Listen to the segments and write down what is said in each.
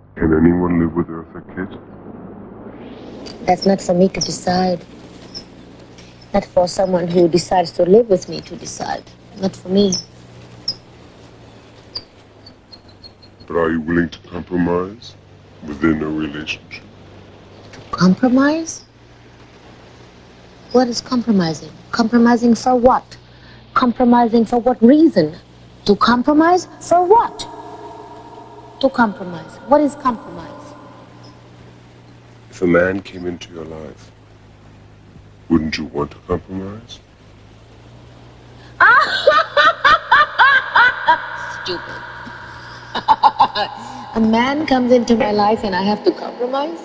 Can anyone live with Eartha Kitt? That's not for me to decide. Not for someone who decides to live with me to decide. Not for me. But are you willing to compromise within a relationship? Compromise? What is compromising? Compromising for what? Compromising for what reason? To compromise for what? To compromise. What is compromise? If a man came into your life, wouldn't you want to compromise? Stupid. A man comes into my life and I have to compromise?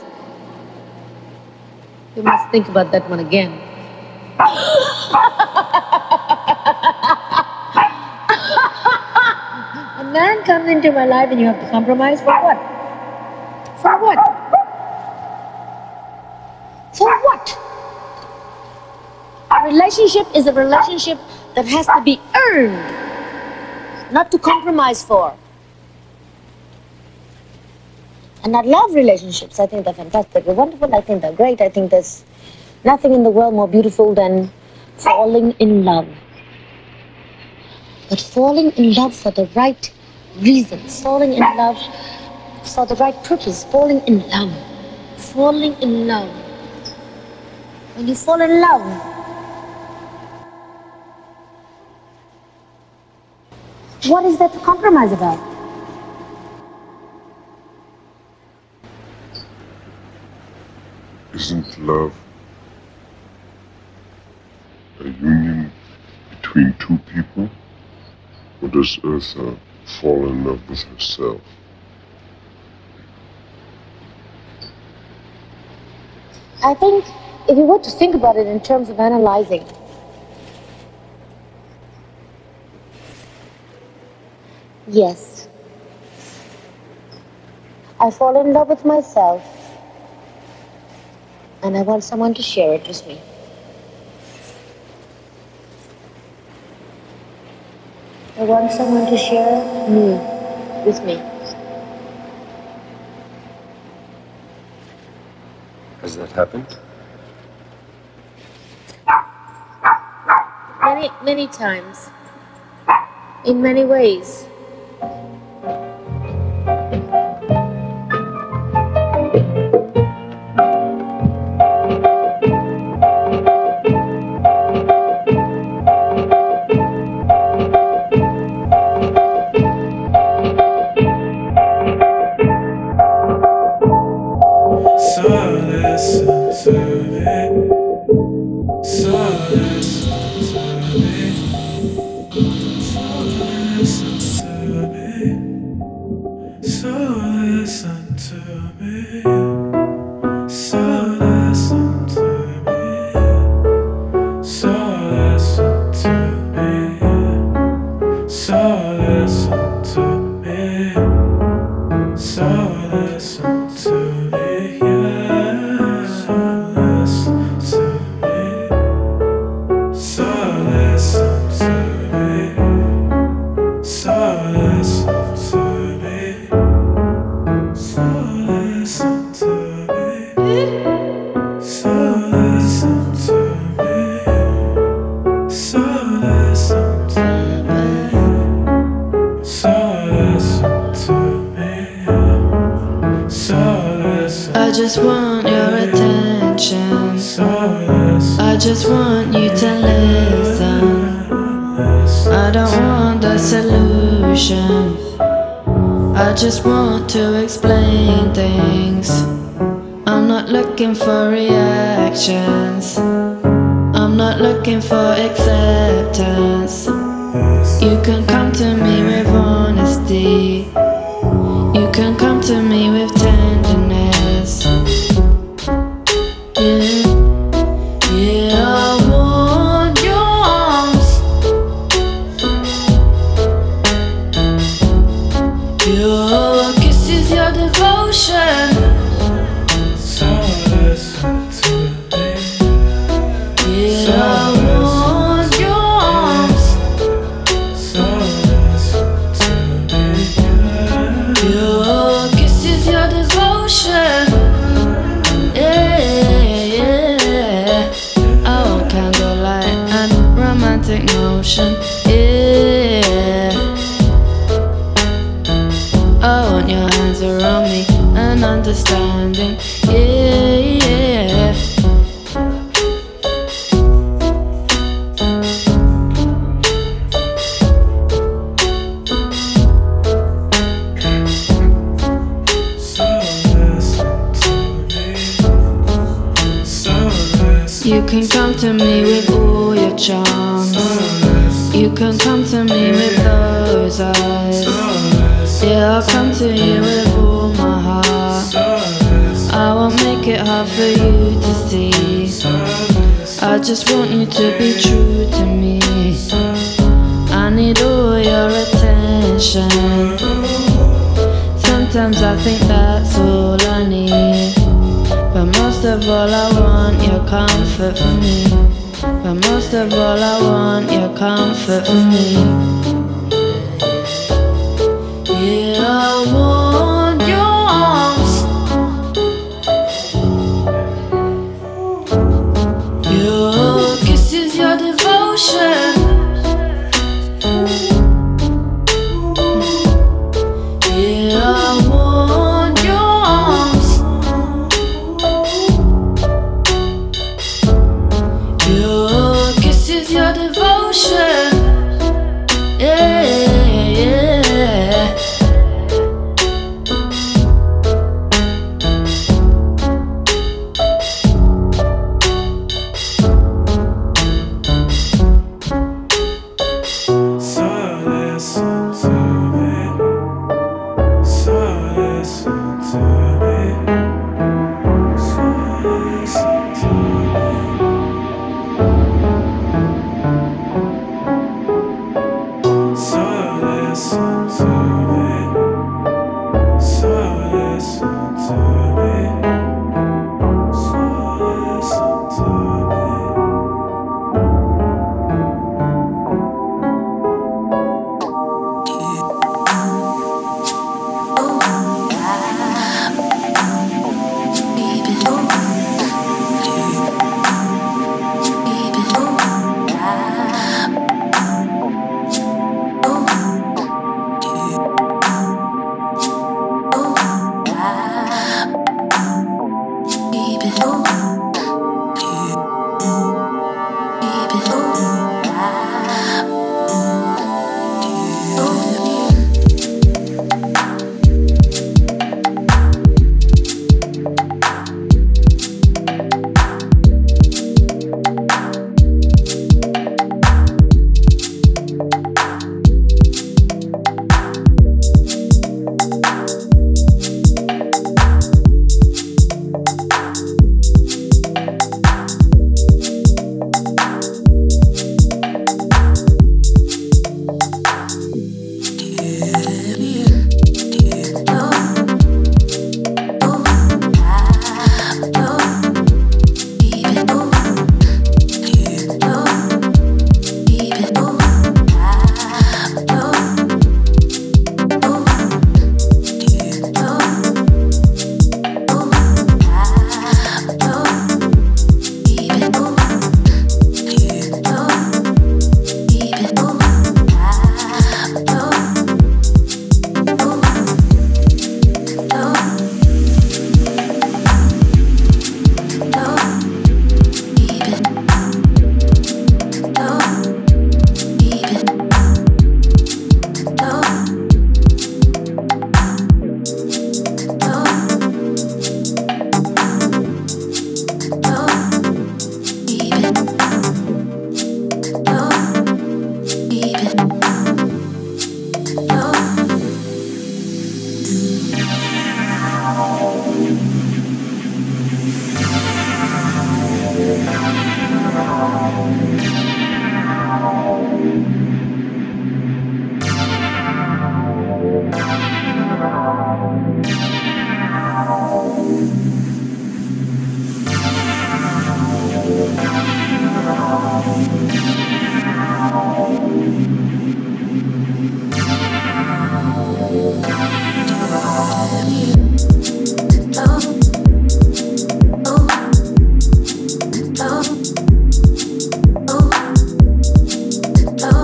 You must think about that one again. A man comes into my life and you have to compromise for what? For what? For what? A relationship is a relationship that has to be earned, not to compromise for. And I love relationships. I think they're fantastic. They're wonderful. I think they're great. I think there's nothing in the world more beautiful than falling in love. But falling in love for the right reasons, falling in love for the right purpose, falling in love. Falling in love. When you fall in love, what is there to compromise about? Isn't love a union between two people? Or does Eartha fall in love with herself? I think if you were to think about it in terms of analyzing, yes, I fall in love with myself and I want someone to share it with me. I want someone to share me with me. Has that happened? Many times. In many ways. I just want your attention. I just want you to listen. I don't want the solution. I just want to explain things. I'm not looking for reactions. I'm not looking for acceptance. You can come to me with honesty. You can come to me with tenderness. Yeah, I want your arms. Your kisses, your devotion. So listen to me. Yeah, I want your arms. So listen to me. Your kisses, your devotion. devotion. Yeah, I want your hands around me and understanding. Yeah, yeah. You can come to me with all your charms. You can come to me with those eyes. Yeah, I'll come to you with all my heart. I won't make it hard for you to see. I just want you to be true to me. I need all your attention. Sometimes I think that's all I need. But most of all I want your comfort from me. But most of all I want your comfort from me. Yeah, I want your arms, your kisses, your devotion. Yeah, I want your arms, your kisses, your devotion. Yeah, yeah. Oh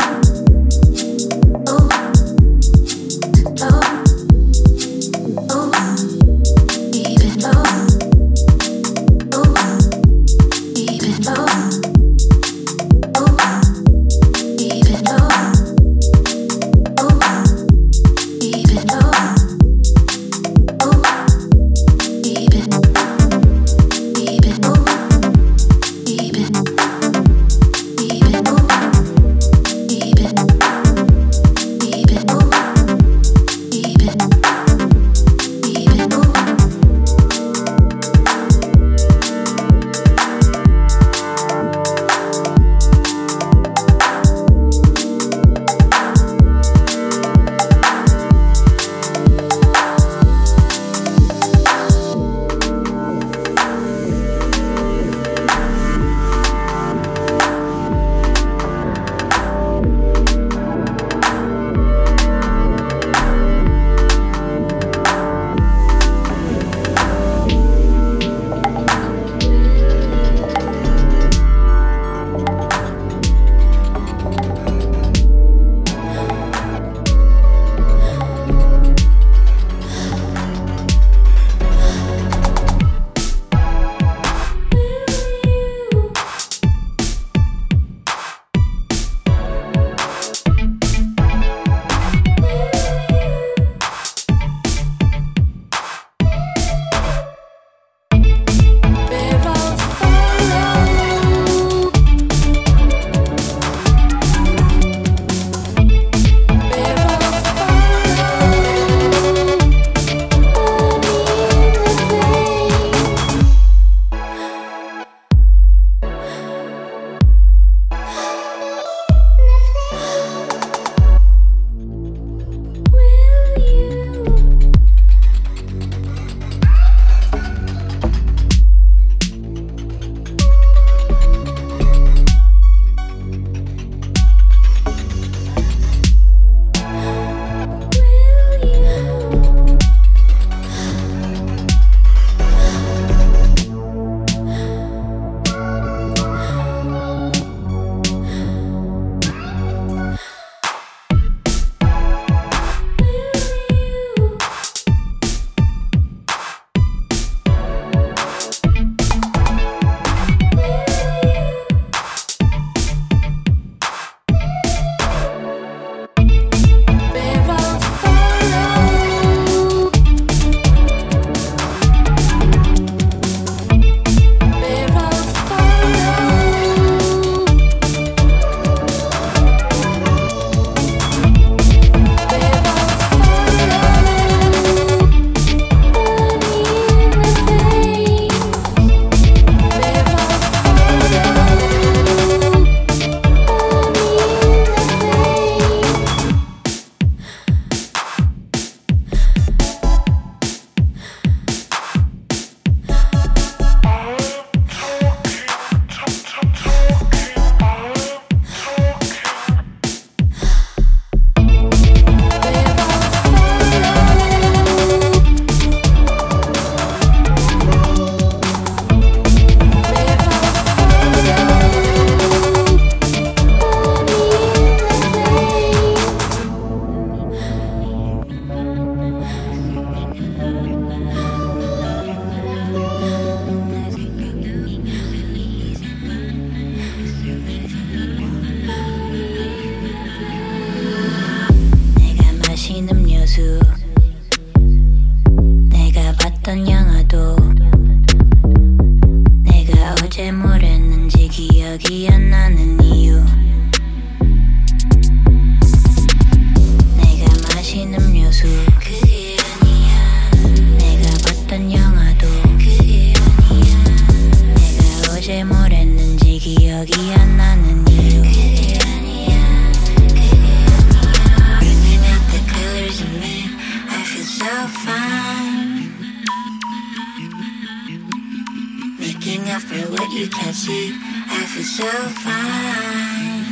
after what you can't see. I feel so fine.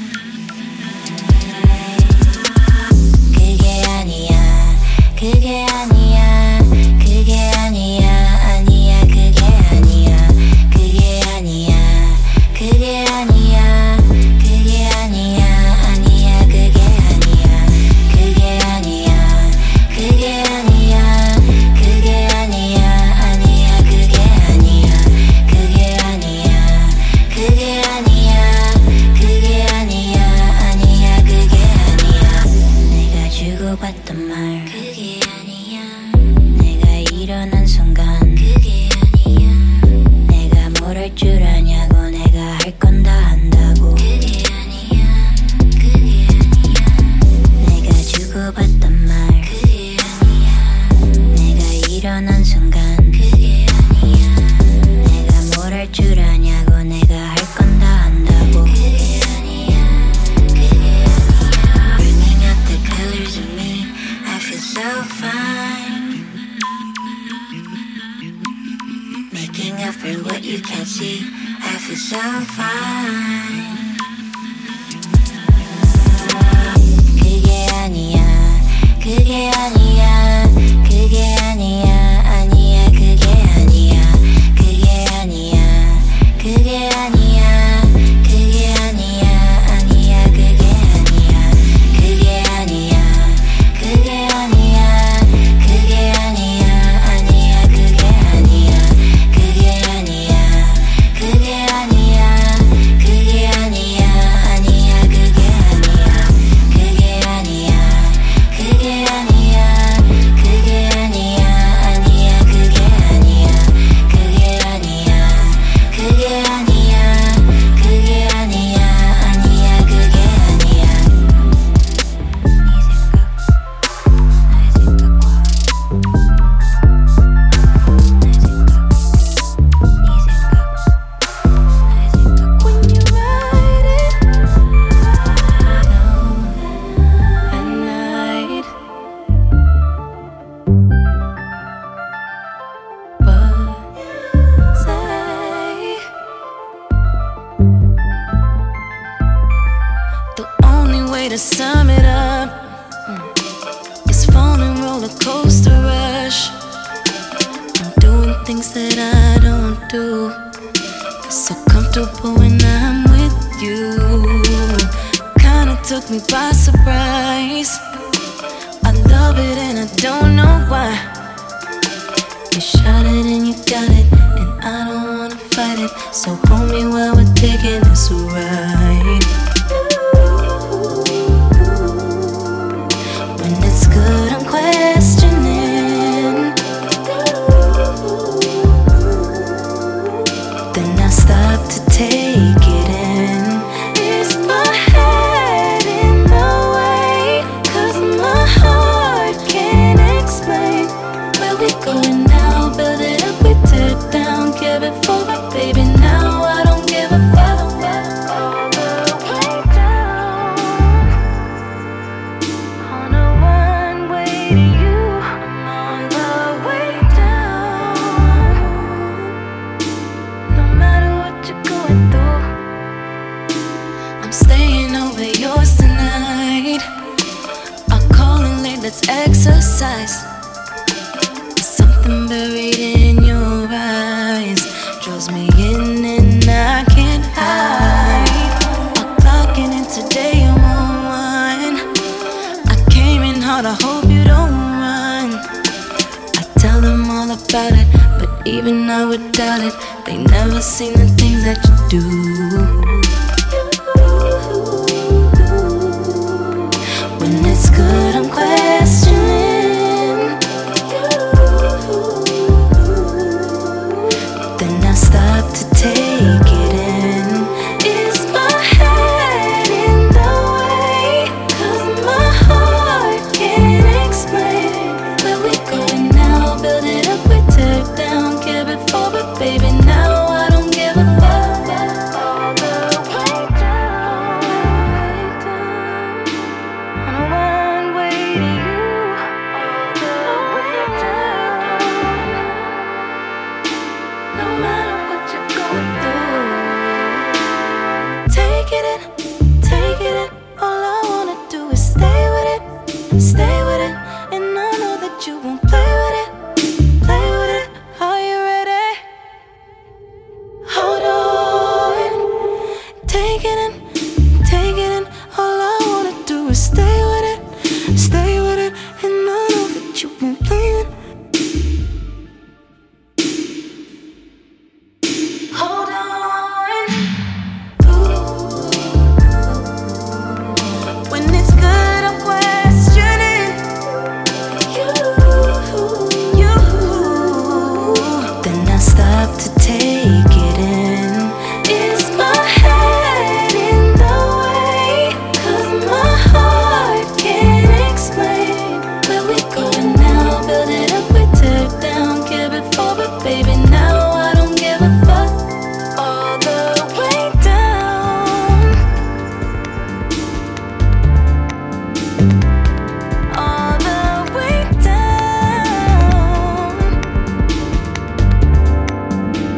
그게 아니야, 그게 아니야, 그게 아니야, 아니야, 그게 아니야, 그게 아니야, 그게 아니야, 그게 아니야, 아니야, 그게 아니야, 그게 아니야, 그게 아니야, 그게 아니야, 아니야, 그게 아니야, 그게 아니야, 그게 아니야, 그게 아니야, 아니야, 그게 아니야. 내가 주고받던 말 그게 아니야. 내가 일어난 순간 그게 아니야. 내가 뭘 할 줄 아냐고 내가 할 건 다 한다고 그게 아니야. 그게 아니야. 내가 주고받던 말 그게 아니야. 내가 일어난 순간 그게 아니야. 내가 뭘 할 줄 아냐고 내가 할 건 다 한다고 그게 아니야. 그게 아니야. Bringing out the colors of me, I feel so fine. Making up for what you can't see, I feel so fine. 그게 아니야, 그게 아니야, 그게 아니야, 아니야, 그게 아니야, 그게 아니야, 그게 아니야, 그게 아니야, 아니야, 그게 아니야, 그게 아니야, 그게 아니야, 그게 아니야, 아니야, 그게 아니야, 그게 아니야, 그게 아니야, 그게 아니야, 아니야, 그게 아니야, 그게 아니야, 그게 아니야, 그게 아니야, 아니야, 그게 아니야, 그게 아니야, 그게 아니야, 그게 아니야, 아니야, 그게 아니야. 네 생각, 나의 생각, When you write it down at night, but say the only way to sum it up is falling roller coaster rush. I'm doing things that I don't do. So comfortable when I'm with you. Kinda took me by surprise. I love it and I don't know why. You shot it and you got it, and I don't wanna fight it. So hold me while we're taking this ride. When it's good, I'm questioning. Then I stop to take it in. Is my head in the way? 'Cause my heart can't explain. Where we going now? Build it up, we tear it down. Give it for it, baby, now I don't give a fuck. All the way down, on a one-way to you. All the way down, no matter what you're going through. I'm staying over yours tonight. I'll call in late, let's exercise. There's something buried in your eyes, draws me in and I can't hide. I'll clock in and today I'm on one. I came in hard, I hope you don't run. I tell them all about it, but even I would doubt it. They never seen the things that you do. When it's good, I'm questioning. Then I stop to take it in. Is my head in the way? 'Cause my heart can't explain. Where we going now? Build it up, we tear it down. Give it for it, baby, now I don't give a fuck. All the hard to take it in. Is my head in the way? 'Cause my heart can't explain where we going now. Build it up, we tear it down. Give it forward, baby, now I don't give a fuck. All the way down, all the way down.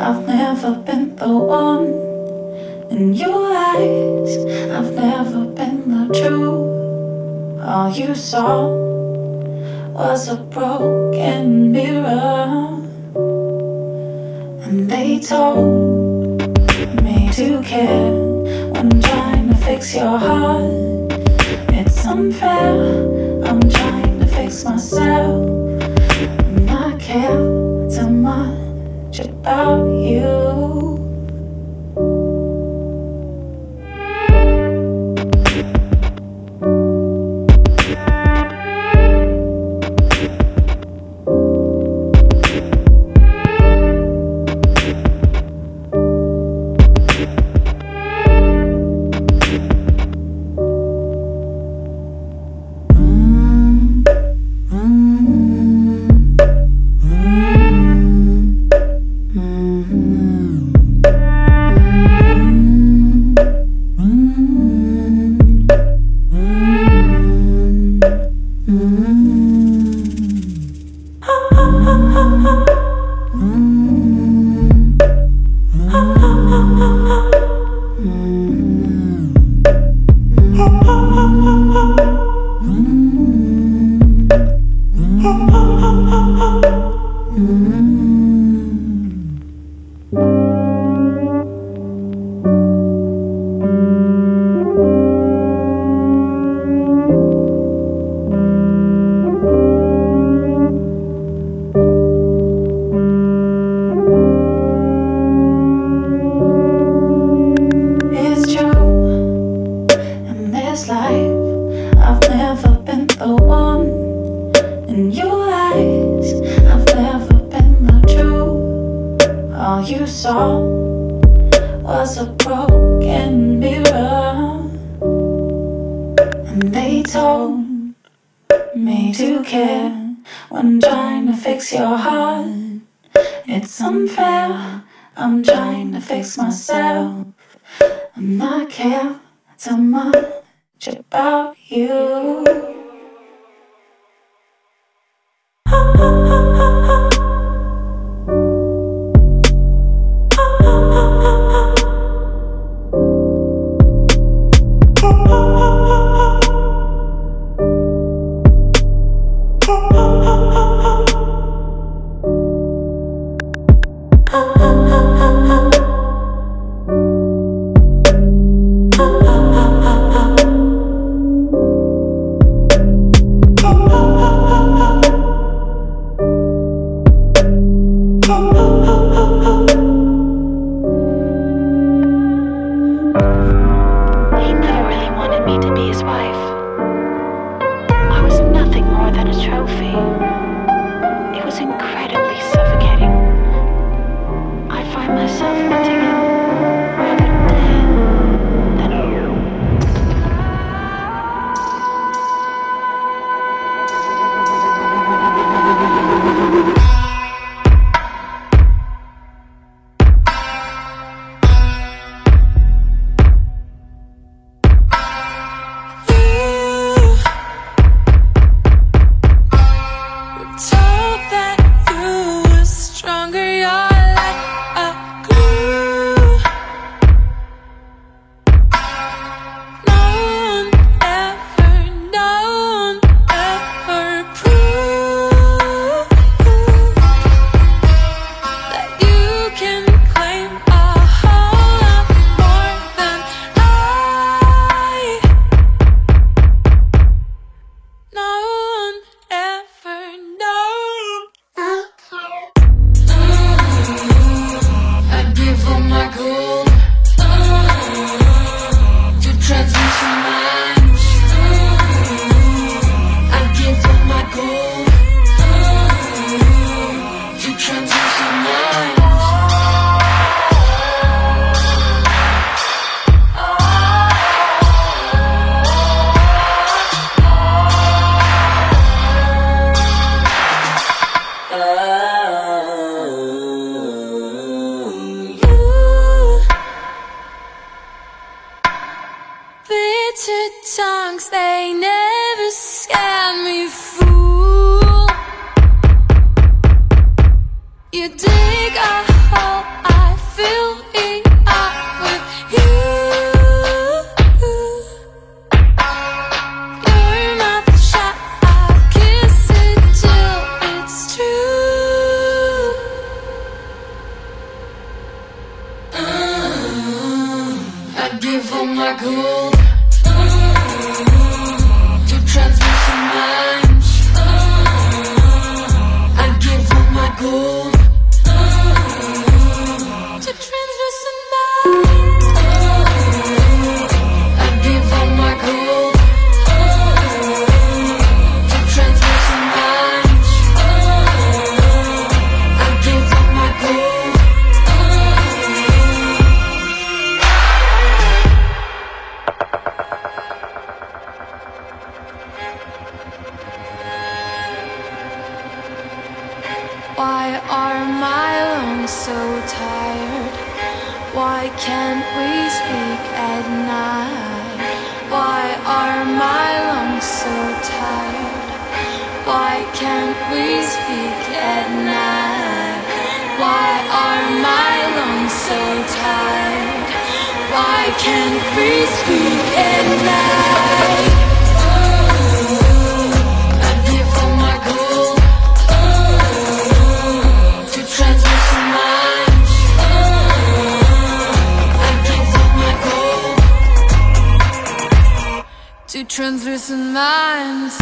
I've never been the one. In your eyes, I've never been the truth. All you saw was a broken mirror, and they told me to care when trying to fix your heart. It's unfair, I'm trying to fix myself, and I care too much about you. Myself, and I care too much about you. tongues, they never scared me, fool. You dig a hole, give all my gold to translucent minds. I give all my gold to translucent minds. I give all my gold to translucent minds. I give all my gold. Why are my lungs so tired? Why can't we speak at night? Why are my lungs so tired? Why can't we speak at night? Why are my lungs so tired? Why can't we speak at night? I give all my gold to translucent minds. I give all my gold to translucent minds.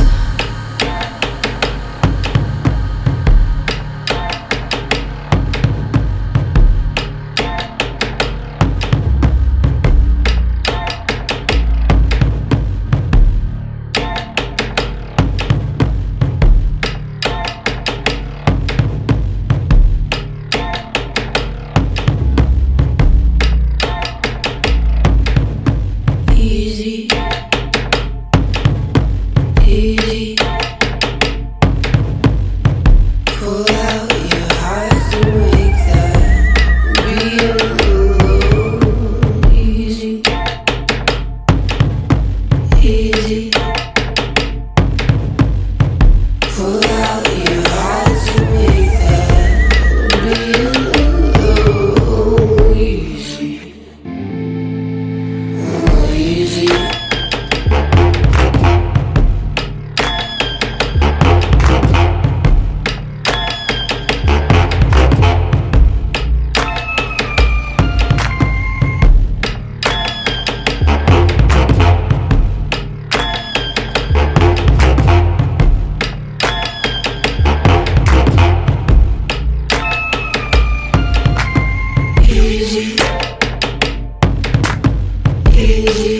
Easy, easy. Pull out your heart to make that real. Easy, easy. Pull out your heart to make that real. Easy, easy. Easy, easy.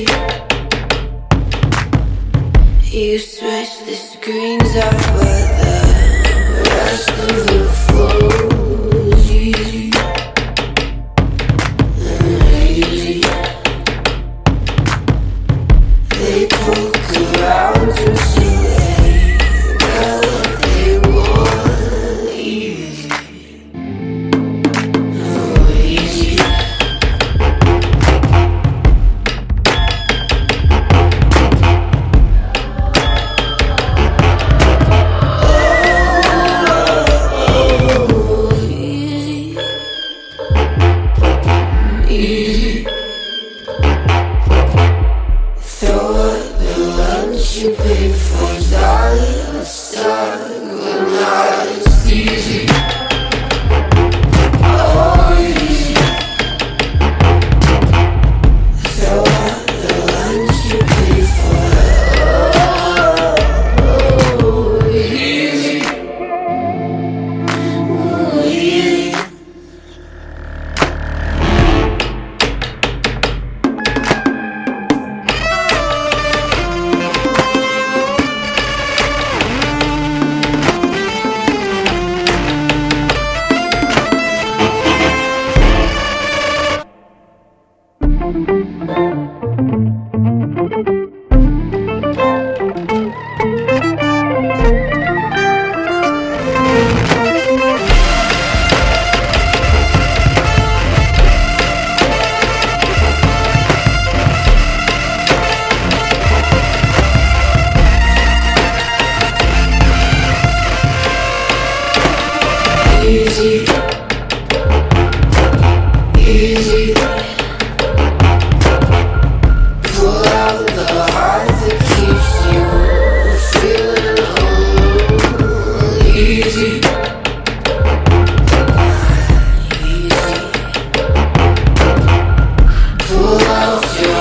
You switch the screens off, but the rest of the flows easy, easy. They poke around until they got what they want. Easy, oh easy. Easy. Throw up the lunch you paid for, darling. It's easy. Oh, easy. Throw up the lunch you paid for. Oh, easy. Oh, easy. Easy, easy. Pull out the heart that keeps you feeling alone. Easy, easy. Pull out your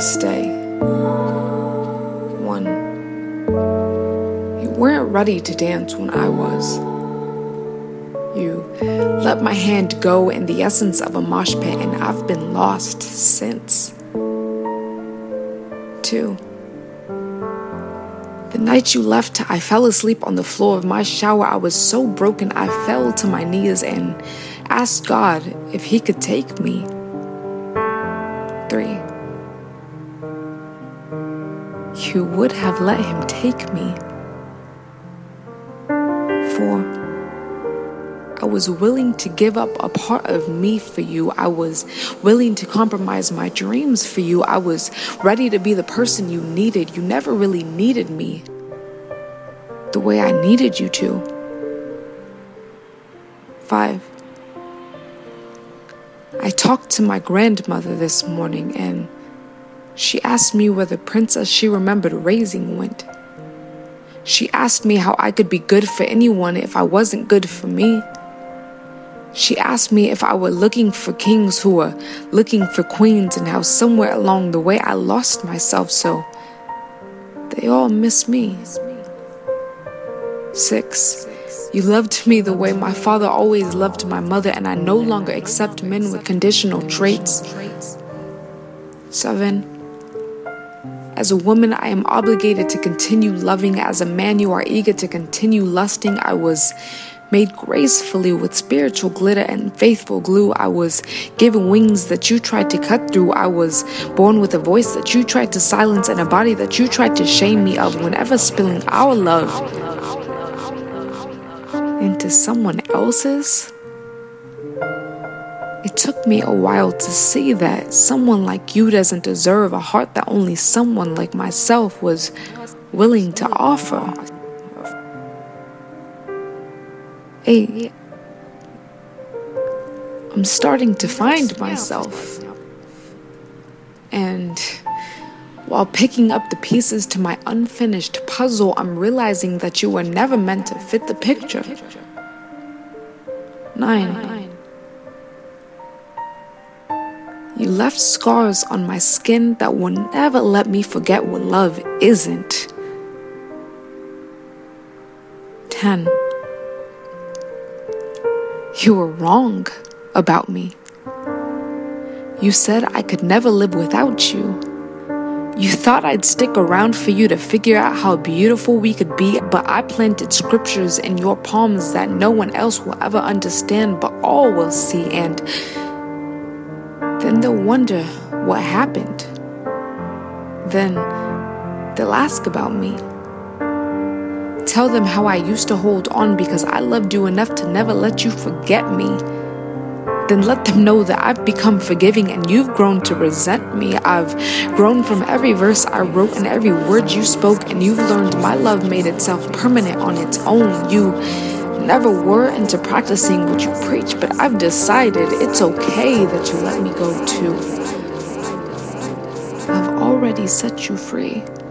stay. 1. You weren't ready to dance when I was. You let my hand go in the essence of a mosh pit, and I've been lost since. 2. The night you left, I fell asleep on the floor of my shower. I was so broken, I fell to my knees and asked God if He could take me. 3. You would have let Him take me. 4. I was willing to give up a part of me for you. I was willing to compromise my dreams for you. I was ready to be the person you needed. You never really needed me the way I needed you to. 5. I talked to my grandmother this morning, and she asked me where the princess she remembered raising went. She asked me how I could be good for anyone if I wasn't good for me. She asked me if I were looking for kings who were looking for queens, and how somewhere along the way I lost myself, so they all miss me. 6. You loved me the way my father always loved my mother, and I no longer accept men with conditional traits. 7. As a woman, I am obligated to continue loving. As a man, you are eager to continue lusting. I was made gracefully with spiritual glitter and faithful glue. I was given wings that you tried to cut through. I was born with a voice that you tried to silence, and a body that you tried to shame me of. Whenever spilling our love into someone else's, it took me a while to see that someone like you doesn't deserve a heart that only someone like myself was willing to offer. 8. I'm starting to find myself. And while picking up the pieces to my unfinished puzzle, I'm realizing that you were never meant to fit the picture. 9. You left scars on my skin that will never let me forget what love isn't. 10. You were wrong about me. You said I could never live without you. You thought I'd stick around for you to figure out how beautiful we could be, but I planted scriptures in your palms that no one else will ever understand, but all will see, and then they'll wonder what happened. Then they'll ask about me. Tell them how I used to hold on because I loved you enough to never let you forget me. Then let them know that I've become forgiving and you've grown to resent me. I've grown from every verse I wrote and every word you spoke, and you've learned my love made itself permanent on its own. You never were into practicing what you preach, but I've decided it's okay that you let me go too. I've already set you free.